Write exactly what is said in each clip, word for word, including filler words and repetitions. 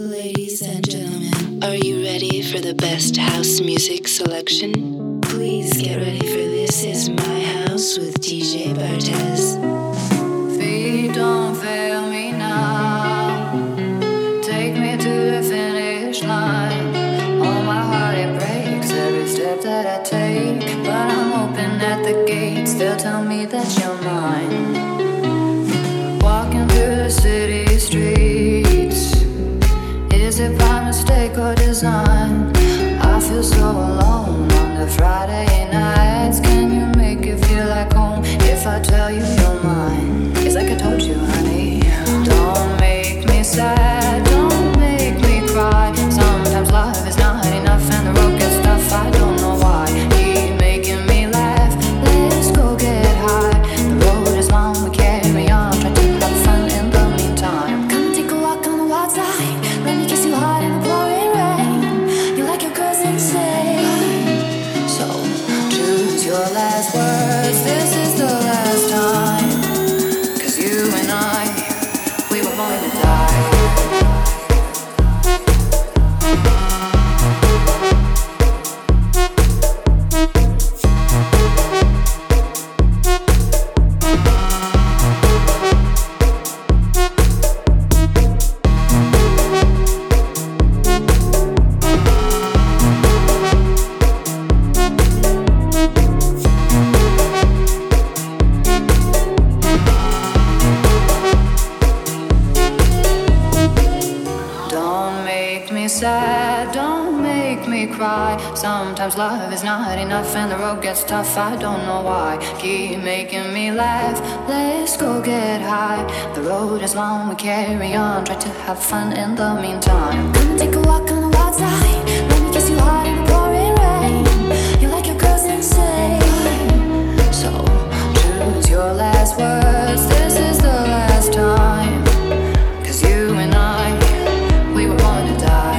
Ladies and gentlemen, are you ready for the best house music selection? Please get ready for This Is My House with D J Bartez. Feet don't fail me now. Take me to the finish line. Oh, my heart, it breaks every step that I take. But I'm open at the gates. They'll tell me that you're mine. Walking through the city streets. Is it by mistake or design? I feel so alone on the Friday nights. Can you make it feel like home if I tell you you're mine? It's like I told you, honey. Don't make me sad, don't make me cry. Sometimes love is not enough and the road gets tough. I don't know why. Keep making me laugh. Let's go get high. The road is long, we carry on. Try to have fun in the meantime. Come take a walk on the wild side. Let me kiss you hard in the pouring rain. You like your girls insane. So choose your last words. This is the last time. Cause you and I, we were born to die. Sad, don't make me cry. Sometimes love is not enough and the road gets tough. I don't know why. Keep making me laugh. Let's go get high. The road is long, we carry on. Try to have fun in the meantime. Come and take a walk on the wild side. Let me kiss you hard in the pouring rain. You like your girls insane. So choose your last words. This is the last time. Cause you and I, we were born to die.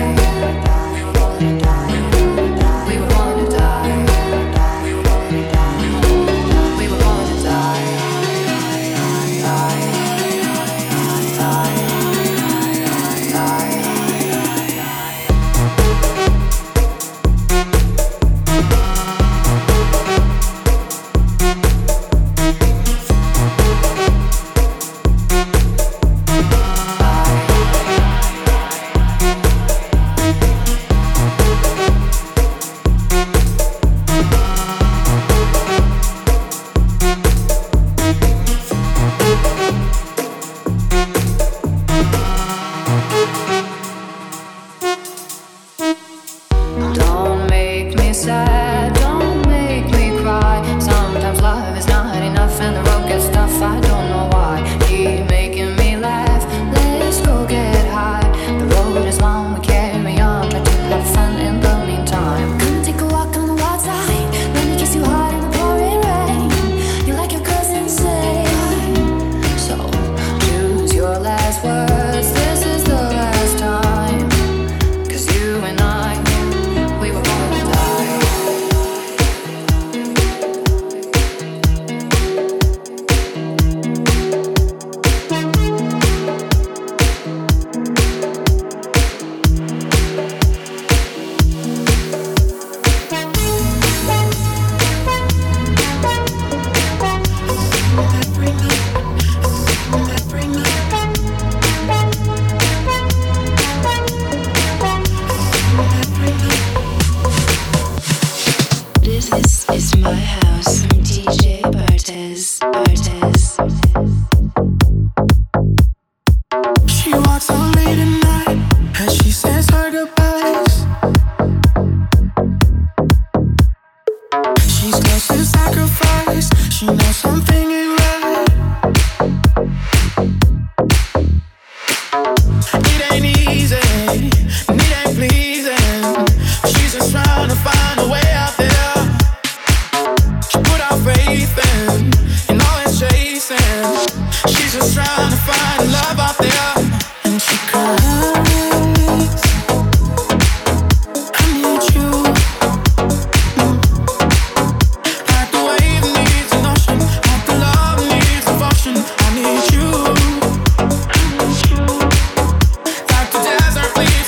Like the desert leaves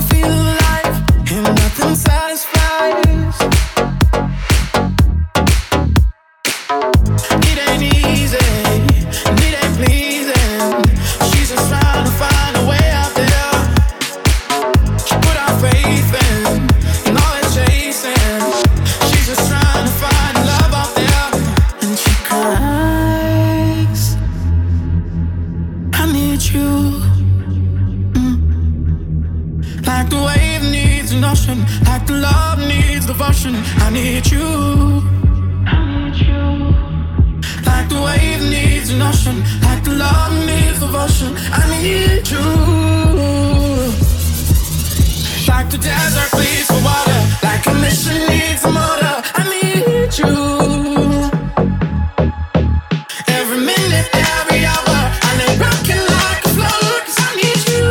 feel alive, and nothing satisfies. It ain't easy, and it ain't pleasing. She's just trying to find a way out there. She put our faith in, and all that chasing. She's just trying to find love out there, and she cries. I need you. Like the wave needs an ocean, like the love needs devotion. I need you. I need you. Like the wave needs an ocean, like the love needs devotion. I need you. Like the desert bleeds for water, like a mission needs a motor. I need you. Every minute, every hour, I lay rocking like a flower, 'cause I need you.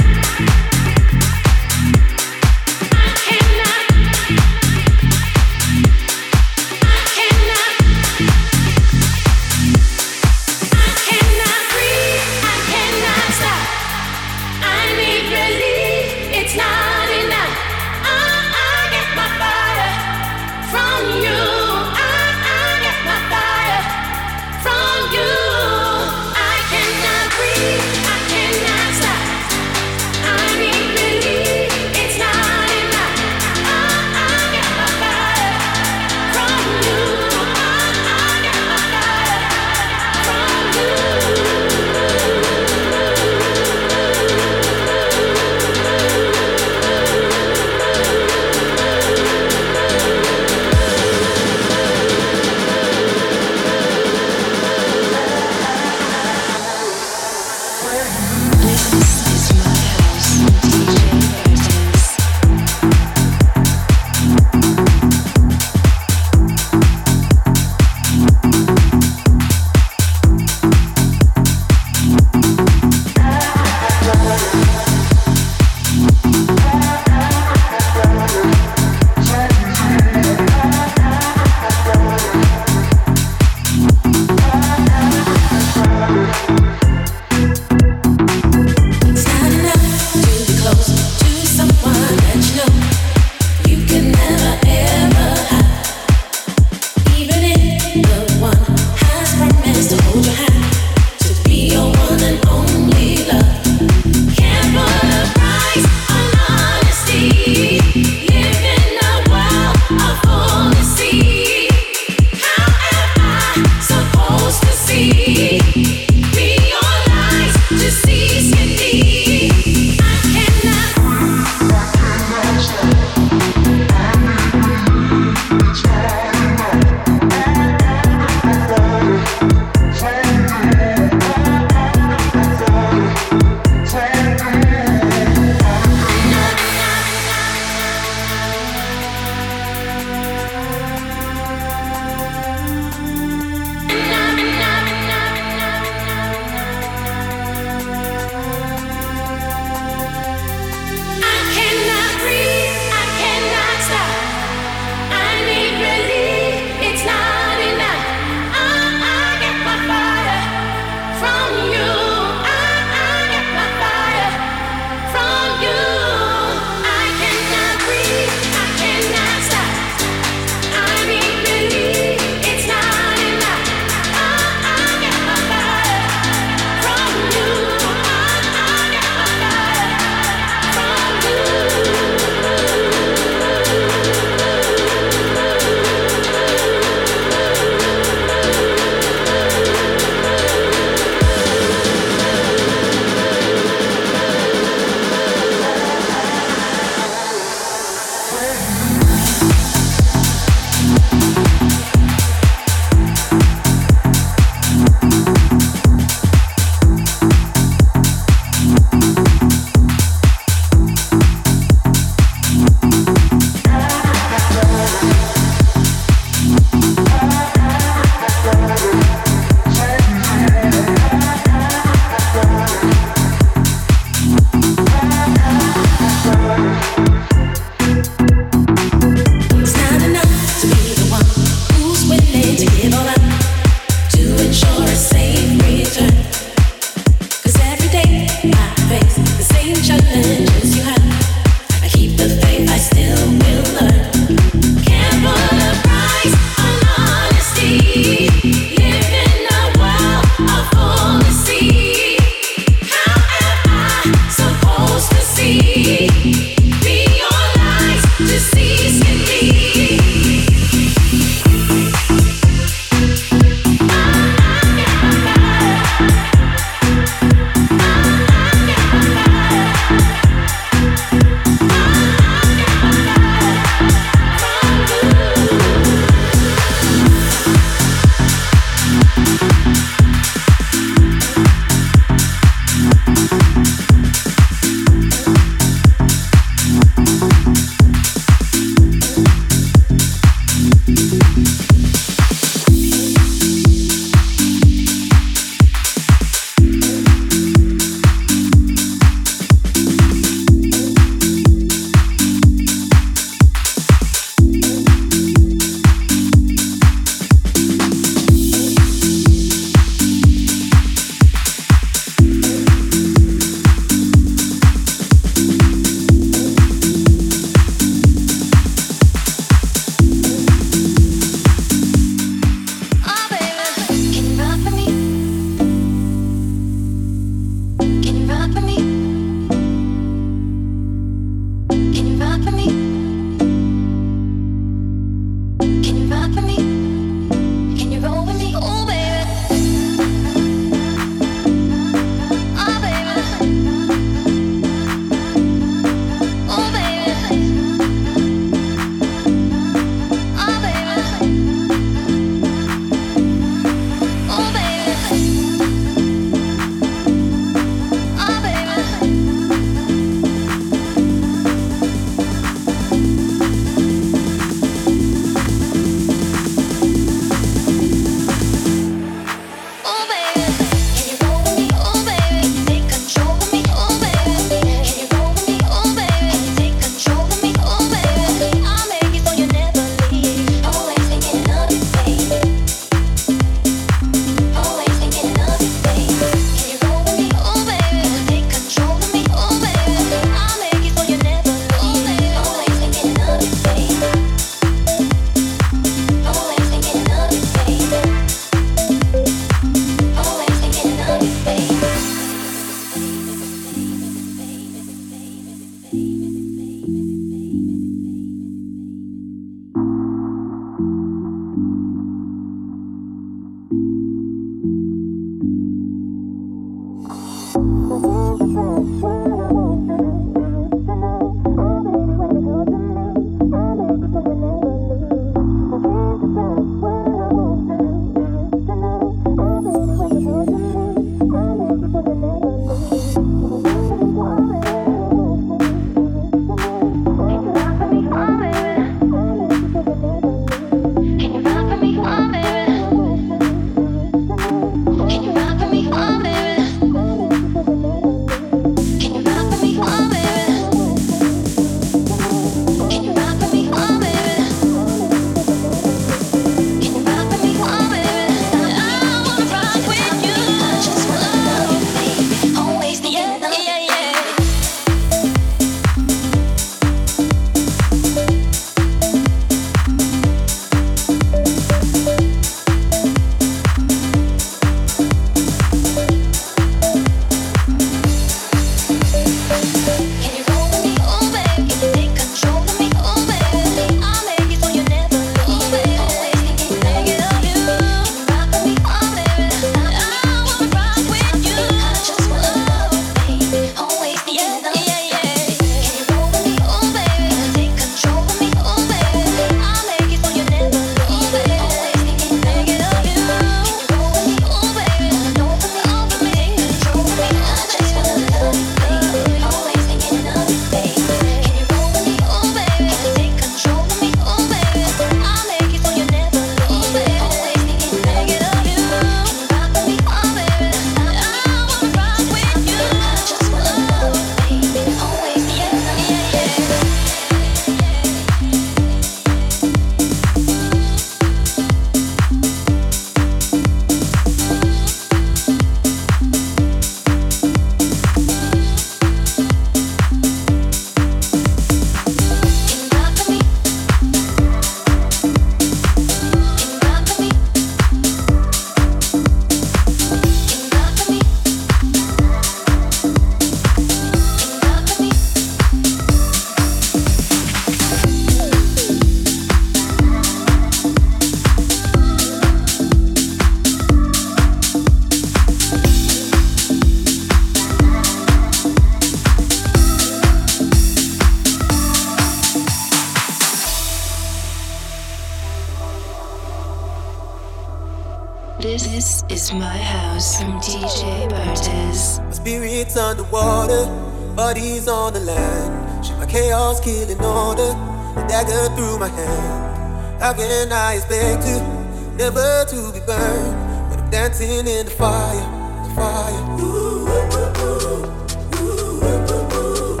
This is my house from D J Bartez. My spirit's underwater, body's on the land. Shit, my chaos killing order, a dagger through my hand. How can I expect to, never to be burned, when I'm dancing in the fire, the fire. Ooh, ooh, ooh, ooh, ooh,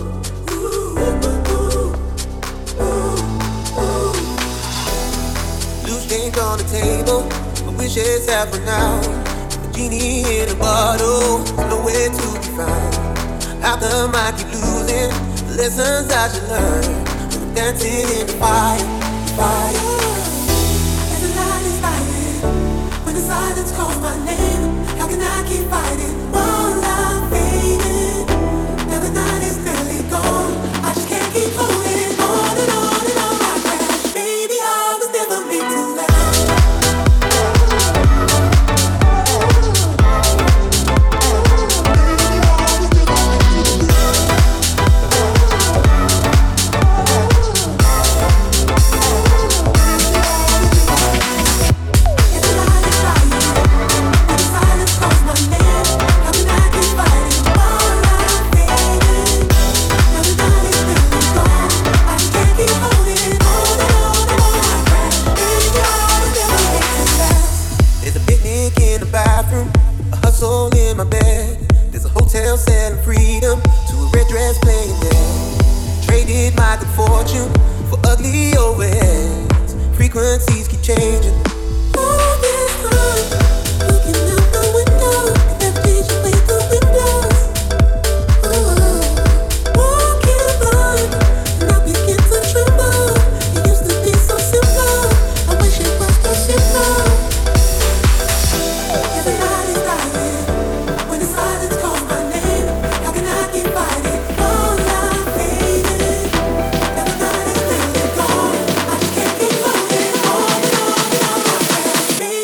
ooh, ooh. Loose change on the table, wishes have run out. A genie in a bottle, nowhere to be found. How come I keep losing the lessons I should learn? When I'm dancing in the fire, fire. And the light is fighting. When the silence calls my name, how can I keep fighting while I'm fading? Now the night is nearly gone. I just can't keep holding on and on and on. I crash, baby, I was never meant to last. Selling freedom to a red dress playing dead. Traded my good fortune for ugly overheads. Frequencies keep changing. All this time, looking out the window, that vision with the windows. Ooh, walking blind, and I begin to tremble. It used to be so simple. I wish it was so simple. Yeah, the night is dying when the silence calls my name. Baby,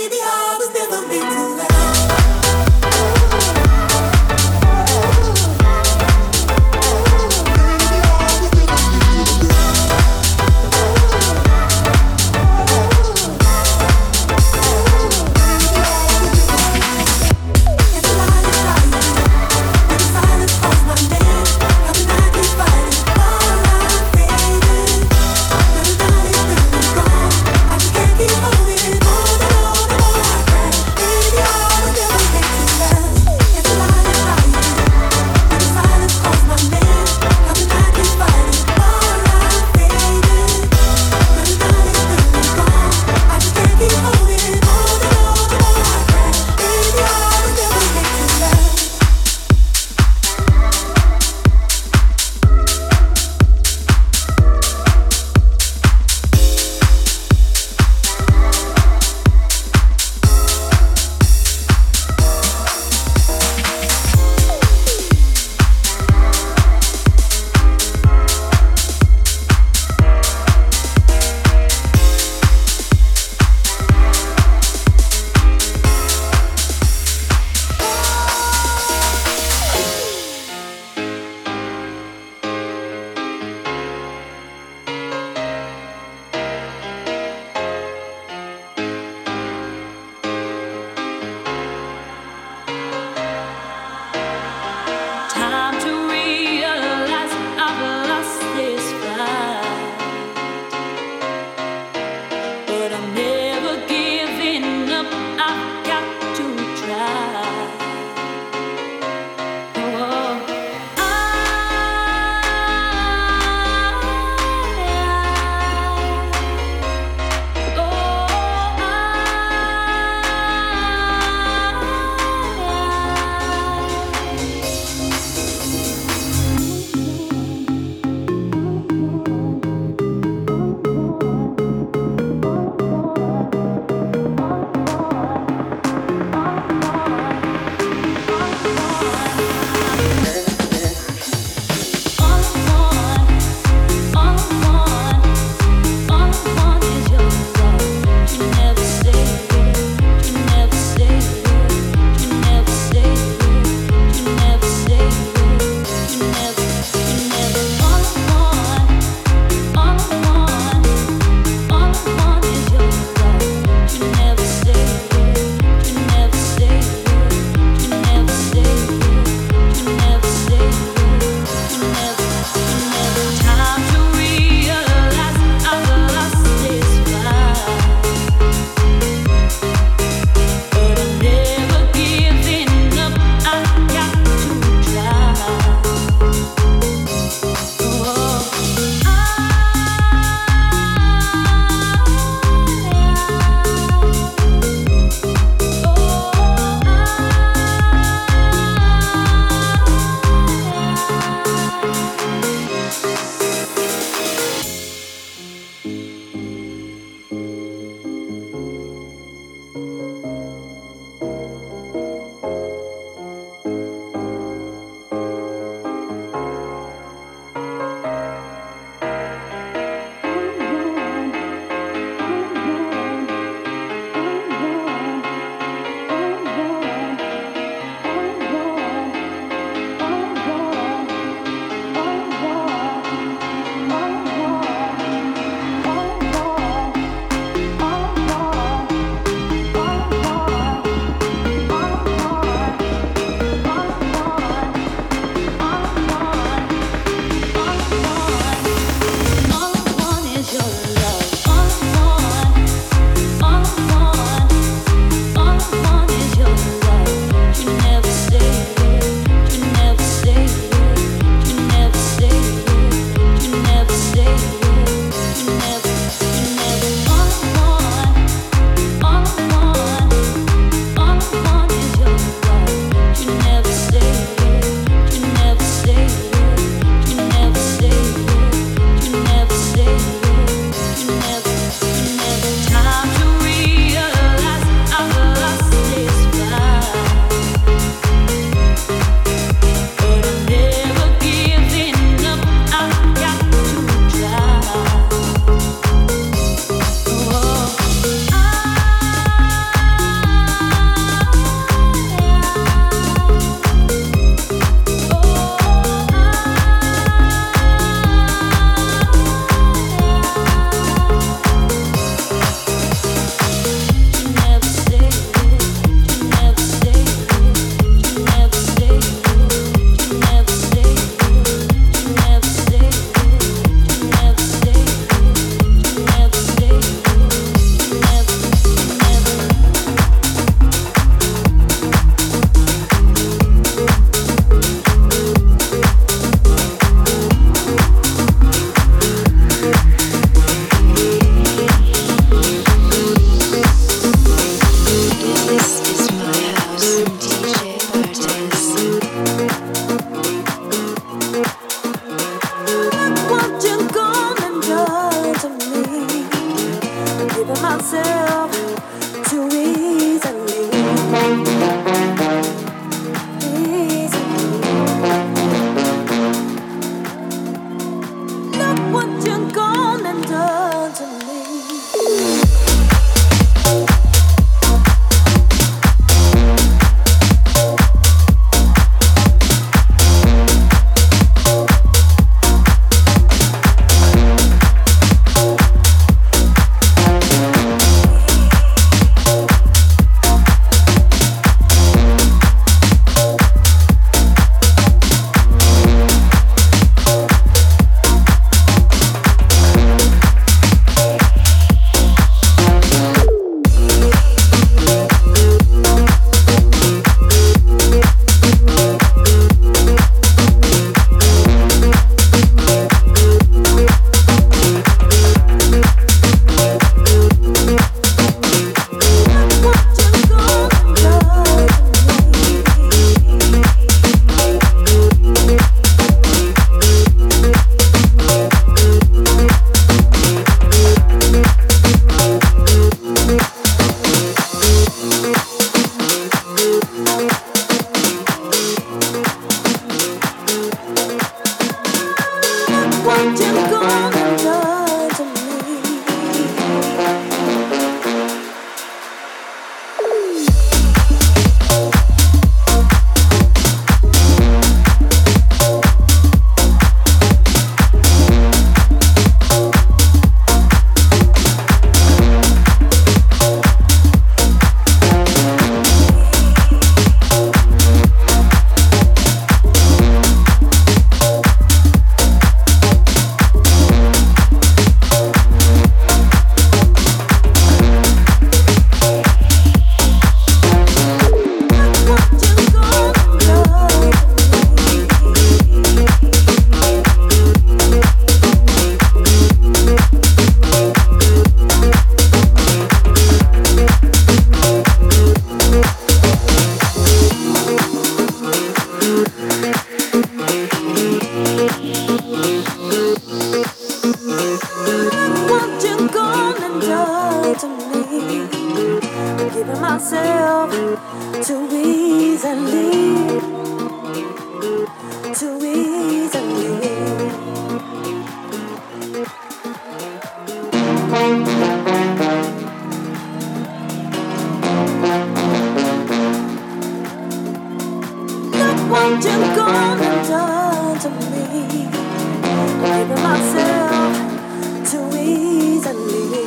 what you're gonna do to me. I'm giving myself too easily.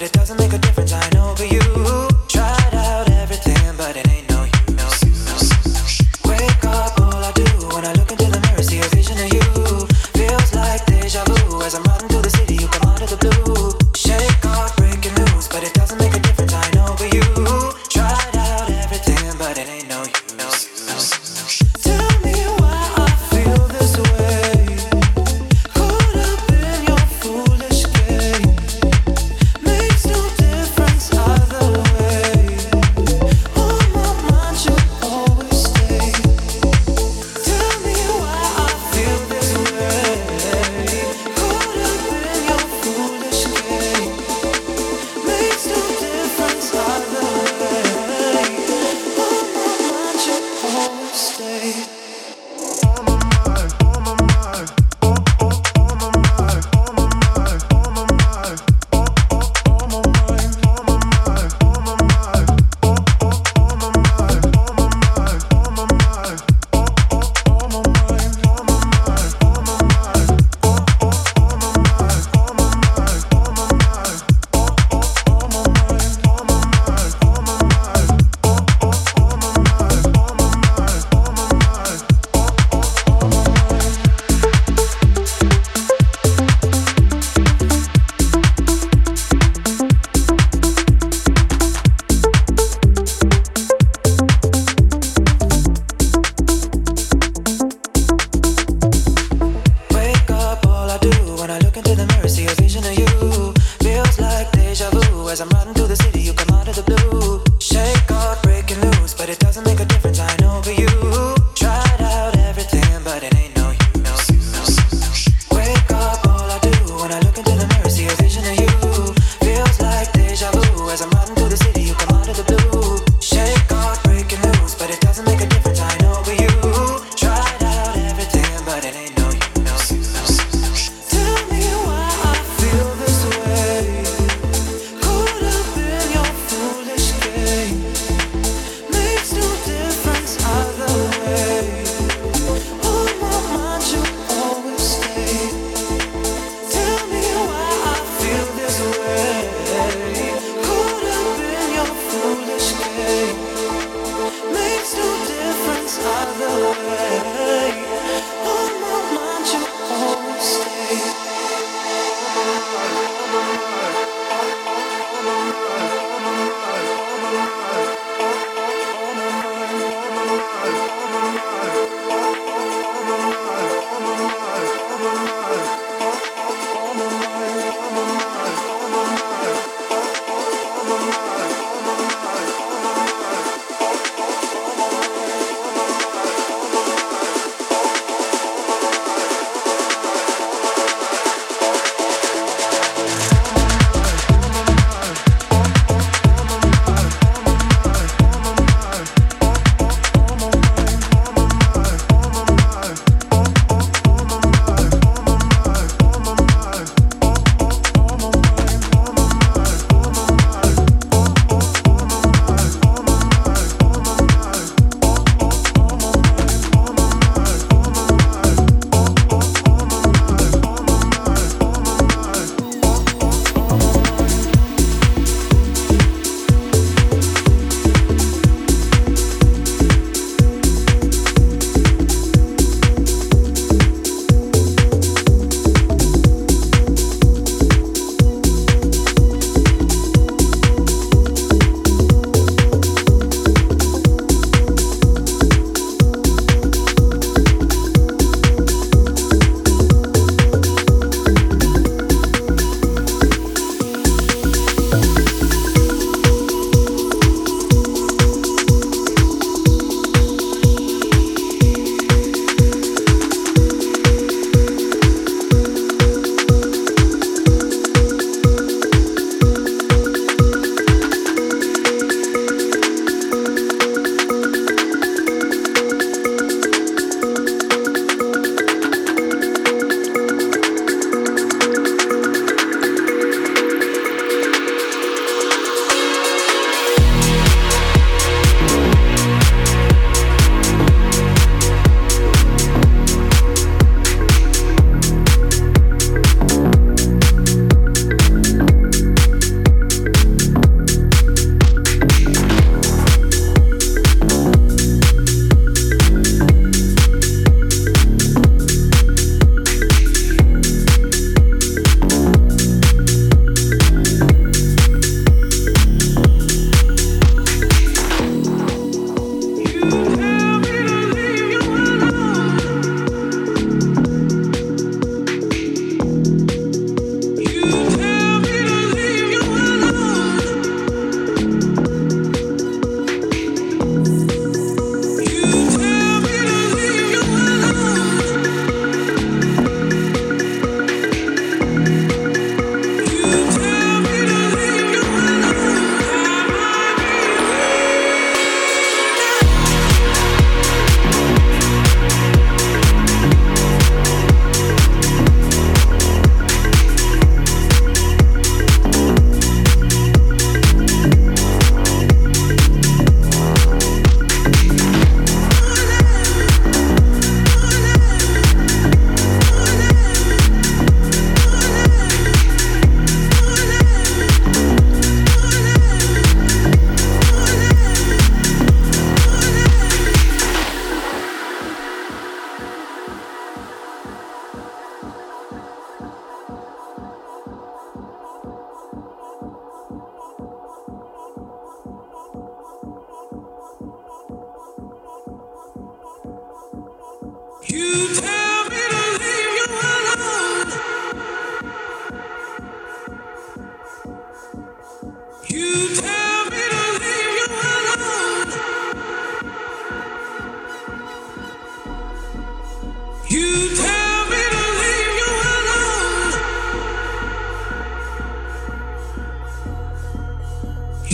it doesn't make a difference. I know, but you tried out everything, but it ain't no you. No. Wake up, all I do when I look into the mirror, see a vision of you. Feels like deja vu as I'm riding through the city. You come out of the blue, shake off, breaking news, but it doesn't make a difference. I know, but you tried out everything, but it ain't no you. No. Tell me why I feel this way. Caught up in your foolish game. Makes no difference either way. On my mind you always stay. Tell me why I feel this way. Caught up in your foolish game. Makes no difference either way. On my mind you always stay. Wake up, all I do when I look into the mirror, see a vision of you. Feels like deja vu as I'm riding through the city. You come out of the blue, shake off, breaking news, but it doesn't make a difference. I know, but you tried out everything, but it ain't no you. No. Wake up, all I do when I look into the mirror, see a vision of you. Feels like deja vu as I'm riding through the city. You come out of the blue, shake off, breaking news, but it doesn't make a difference. I know, but you tried out everything, but it ain't no you. No. Tell me why I feel this way. Caught up in your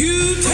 You